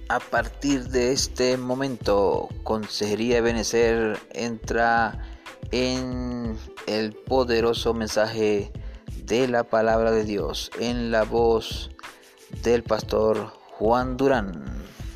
A partir de este momento, Consejería Ebenecer entra en el poderoso mensaje de la palabra de Dios en la voz del pastor Juan Durán.